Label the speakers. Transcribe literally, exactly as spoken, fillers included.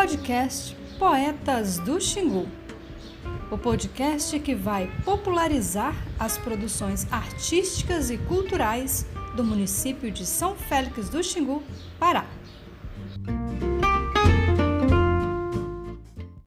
Speaker 1: podcast Poetas do Xingu, o podcast que vai popularizar as produções artísticas e culturais do município de São Félix do Xingu, Pará.